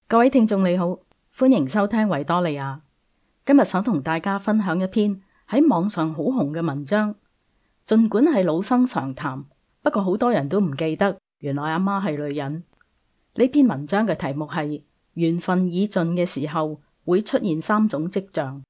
各位聽眾你好，歡迎收聽維多利亞。今日想同大家分享一篇喺網上好紅嘅文章，儘管係老生常談，不過好多人都唔記得原來阿媽係女人。呢篇文章嘅題目係緣分已盡嘅時候會出現3種跡象。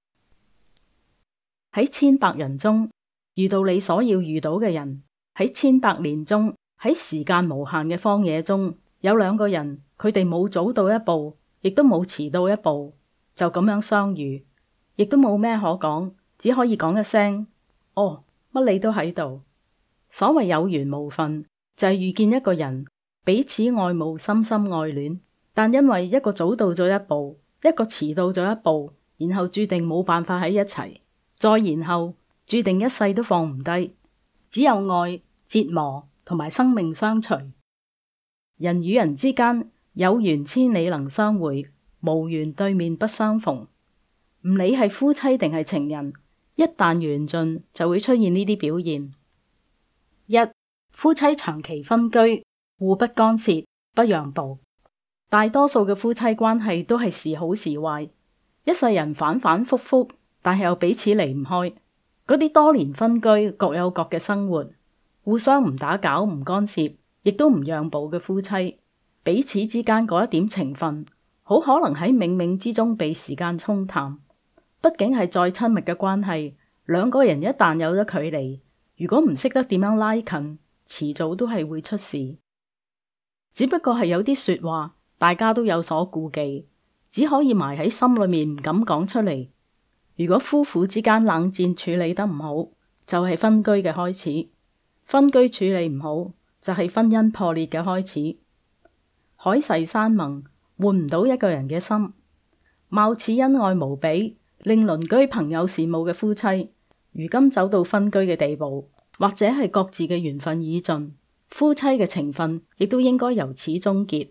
喺千百人中遇到你所要遇到嘅人，喺千百年中，喺時間無限嘅荒野中，有2個人，佢哋冇早到一步，亦都冇遲到一步，就咁樣相遇，亦都冇咩可講，只可以講一聲哦，乜你都喺度。所謂有緣無分，就係遇見一個人，彼此愛慕，深深愛戀，但因為一個早到咗一步，一個遲到咗一步，然後注定冇辦法喺一齊，再然後注定一世都放唔低，只有愛、折磨同埋生命相隨。人與人之間有緣千里能相會，無緣對面不相逢。唔理係夫妻定係情人，一旦緣盡就會出現呢啲表現。1. 夫妻長期分居，互不干涉，不讓步。大多數嘅夫妻關係都係時好時壞，一世人反反复复，但係又彼此離唔開。嗰啲多年分居，各有各嘅生活，互相唔打攪、唔干涉，亦都唔讓步嘅夫妻，彼此之間嗰一點情分，好可能喺冥冥之中被時間沖淡。畢竟係再親密嘅關係，2個人一旦有咗距離，如果唔識得點樣拉近，遲早都係會出事。只不過係有啲說話，大家都有所顧忌，只可以埋喺心裏面，唔敢講出嚟。如果夫婦之間冷戰處理得唔好，就係分居嘅開始；分居處理唔好，就係婚姻破裂嘅開始。海誓山盟換唔到一個人嘅心，貌似恩愛無比，令鄰居朋友羨慕嘅夫妻，如今走到分居嘅地步，或者係各自嘅緣分已盡，夫妻嘅情分亦都應該由此終結。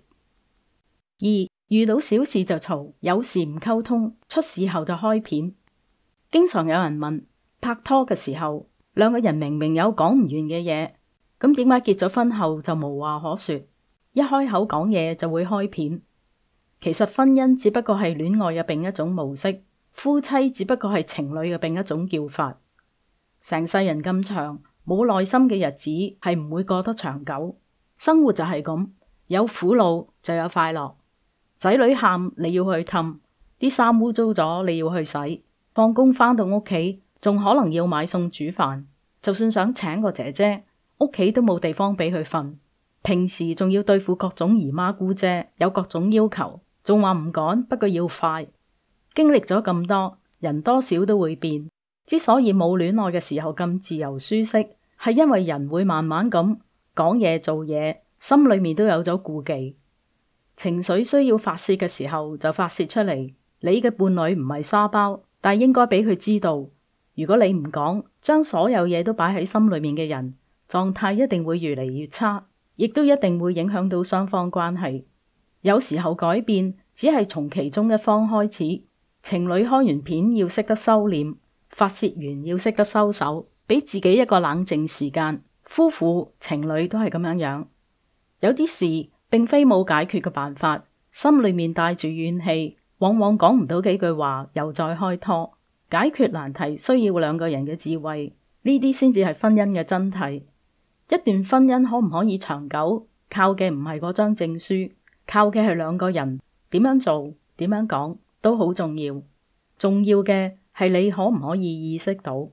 2. 遇到小事就嘈，有事唔溝通，出事後就開片。經常有人問，拍拖嘅時候2個人明明有講唔完嘅嘢，咁點解結咗婚後就無話可說？一開口講嘢就會開片。其實婚姻只不過係戀愛嘅另一種模式，夫妻只不過係情侶嘅另一種叫法。成世人咁長，冇耐心嘅日子係唔會過得長久。生活就係咁，有苦惱就有快樂。仔女喊你要去氹，啲衫污糟咗你要去洗，放工返到屋企仲可能要買餸煮飯。就算想請個姐姐，屋企都冇地方俾佢瞓。平時仲要對付各種姨媽姑姐，有各種要求，仲話唔趕，不過要快。經歷咗咁多，人多少都會變。之所以冇戀愛嘅時候咁自由舒適，係因為人會慢慢咁講嘢做嘢，心裏面都有咗顧忌。情緒需要發洩嘅時候就發洩出嚟。你嘅伴侶唔係沙包，但係應該俾佢知道，如果你唔講，將所有嘢都擺喺心裏面嘅人，狀態一定會越嚟越差，亦都一定會影響到雙方關係。有時候改變只係從其中一方開始。情侶開完片要識得收斂，發洩完要識得收手，俾自己一個冷靜時間。夫婦情侶都係咁樣樣。有啲事並非冇解決嘅辦法，心裏面帶住怨氣，往往講唔到幾句話，又再開拖。解決難題需要2個人嘅智慧，呢啲先至係婚姻嘅真諦。一段婚姻可唔可以長久，靠嘅唔係嗰張證書，靠嘅係2個人點樣做，點樣講都好重要。重要嘅係你可唔可以意識到。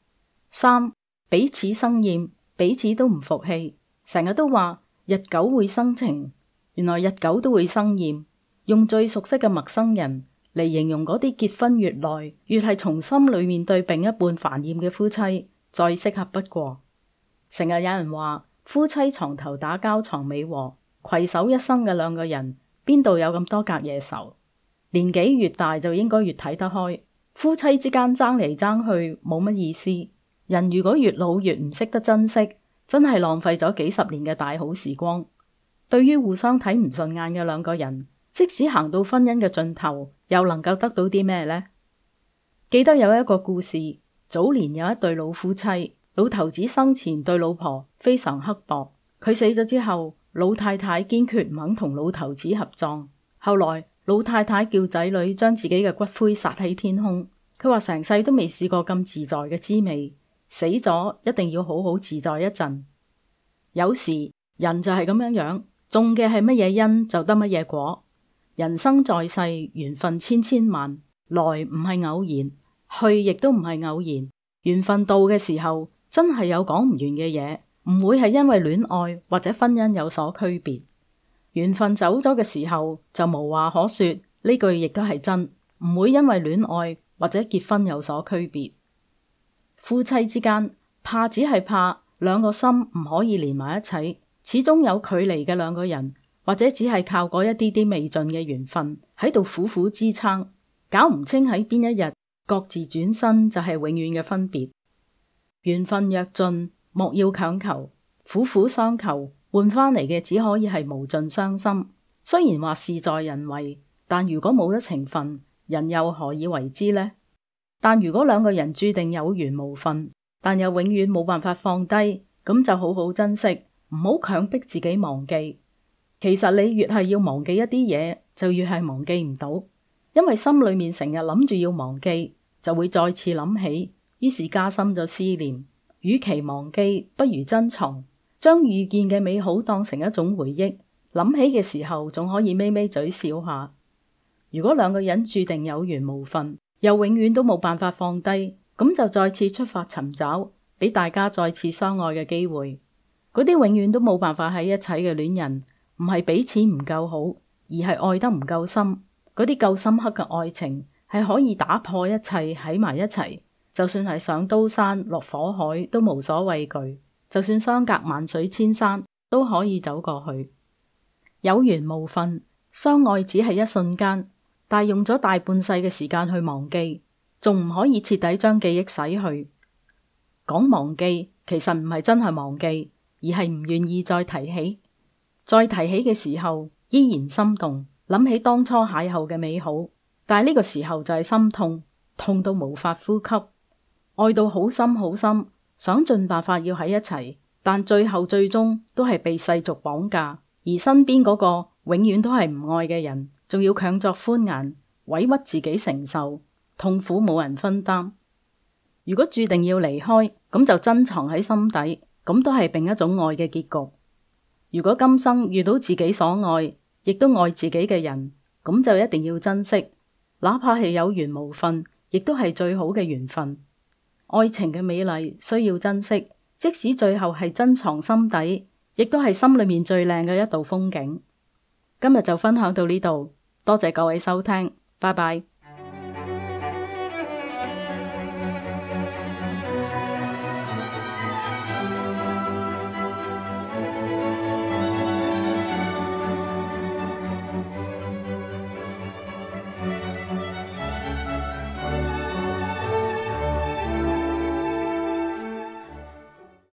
3. 彼此生厭，彼此都唔服氣，成日都話日久會生情，原來日久都會生厭。用最熟悉嘅陌生人嚟形容嗰啲結婚越耐越係從心裏面對另一半煩厭嘅夫妻，再適合不過。成日有人話夫妻床頭打交床尾和，攜手一生嘅2個人邊度有咁多隔夜仇？年紀越大就應該越睇得開，夫妻之間爭嚟爭去冇乜意思。人如果越老越唔識得珍惜，真係浪費咗幾十年嘅大好時光。對於互相睇唔順眼嘅2個人，即使行到婚姻嘅盡頭，又能夠得到啲咩呢？記得有一個故事，早年有一對老夫妻，老頭子生前對老婆非常刻薄，佢死咗之後，老太太堅決唔肯同老頭子合葬。 後來老太太叫仔女將自己嘅骨灰撒喺天空，佢話成世都未試過咁自在嘅滋味，死咗一定要好好自在一陣。有時人就係咁樣樣，種嘅係乜嘢因就得乜嘢果。人生在世，緣分千千萬，來唔係偶然，去亦都唔係偶然。緣分到嘅時候，真係有講唔完嘅嘢，唔會係因為戀愛或者婚姻有所區別。緣分走咗嘅時候，就無話可說，呢句亦都係真，唔會因為戀愛或者結婚有所區別。夫妻之間怕只係怕兩個心唔可以連埋一齊，始終有距離嘅兩個人，或者只係靠嗰一啲啲未盡嘅緣分喺度苦苦支撐，搞唔清喺邊一日各自轉身就係永遠嘅分別。緣分若盡，莫要強求，苦苦相求換翻嚟嘅只可以係無盡傷心。雖然話事在人為，但如果冇咗情分，人又何以為之呢？但如果兩個人注定有緣無分，但又永遠冇辦法放低，咁就好好珍惜，唔好強迫自己忘記。其實你越係要忘記一啲嘢，就越係忘記唔到，因為心裏面成日諗住要忘記，就會再次諗起，於是加深咗思念。與其忘記，不如珍藏，將遇見嘅美好當成一種回憶，諗起嘅時候仲可以咪咪嘴笑下。如果兩個人注定有緣無分，又永遠都冇辦法放低，咁就再次出發尋找，俾大家再次相愛嘅機會。嗰啲永遠都冇辦法喺一齊嘅戀人，唔係彼此唔夠好，而係愛得唔夠深。嗰啲夠深刻嘅愛情，係可以打破一切喺埋一齊，就算係上刀山落火海都無所畏懼，就算相隔萬水千山都可以走過去。有緣無分，相愛只係一瞬間，但用咗大半世嘅時間去忘記，仲唔可以徹底將記憶洗去。講忘記，其實唔係真係忘記，而係唔願意再提起。再提起嘅時候，依然心動，諗起當初邂逅嘅美好，但係呢個時候就係心痛，痛到無法呼吸，愛到好深好深，想盡辦法要喺一齊，但最後最終都係被世俗綁架，而身邊嗰個永遠都係唔愛嘅人，仲要強作歡顏，委屈自己承受，痛苦冇人分擔。如果注定要離開，咁就珍藏喺心底，咁都係另一種愛嘅結局。如果今生遇到自己所愛，亦都愛自己嘅人，咁就一定要珍惜，哪怕係有緣無分，亦都係最好嘅緣分。愛情嘅美麗需要珍惜，即使最後係珍藏心底，亦都係心裏面最靚嘅一道風景。今日就分享到呢度，多謝各位收聽，拜拜。